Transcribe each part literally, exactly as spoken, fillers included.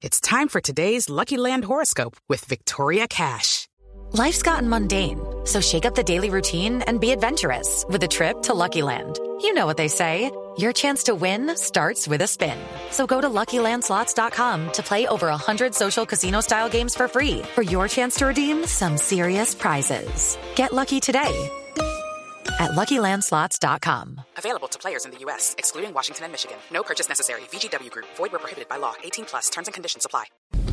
It's time for today's Lucky Land horoscope with Victoria Cash. Life's gotten mundane, so shake up the daily routine and be adventurous with a trip to Lucky Land. You know what they say, your chance to win starts with a spin. So go to Lucky Land Slots dot com to play over one hundred social casino-style games for free for your chance to redeem some serious prizes. Get lucky today at Lucky Land Slots dot com. Available to players in the U S, excluding Washington and Michigan. No purchase necessary. V G W Group. Void where prohibited by law. eighteen plus. Terms and conditions apply.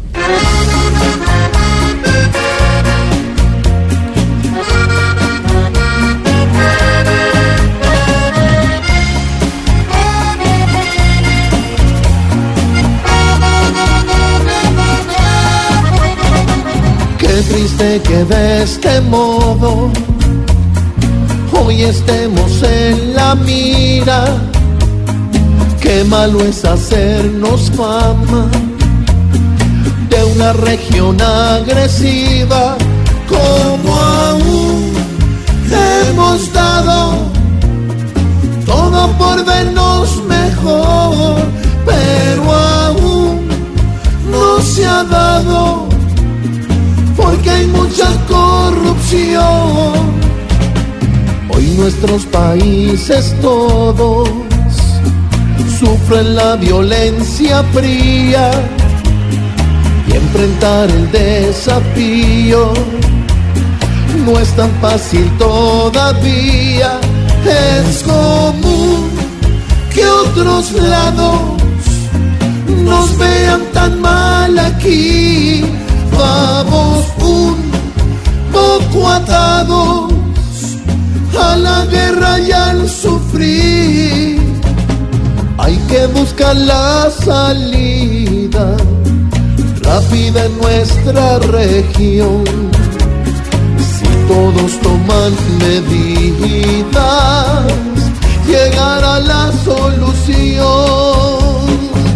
Qué triste que de este modo hoy estemos en la mira. Qué malo es hacernos fama de una región agresiva, como aún hemos dado todo por vernos mejor, pero aún no se ha dado porque hay mucha corrupción. Hoy nuestros países todos sufren la violencia fría y enfrentar el desafío no es tan fácil todavía. Es común que otros lados nos vean tan mal aquí. Vamos un poco atados a la guerra y al sufrir. Hay que buscar la salida rápida en nuestra región. Si todos toman medidas, llegará la solución.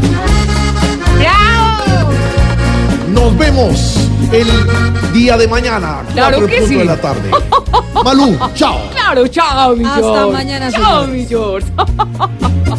¡Bravo! Nos vemos el día de mañana, Claro cuatro que en punto sí. de la tarde. Malú, chao. Claro, chao, mi Hasta George. mañana, Chao, señores. mi George.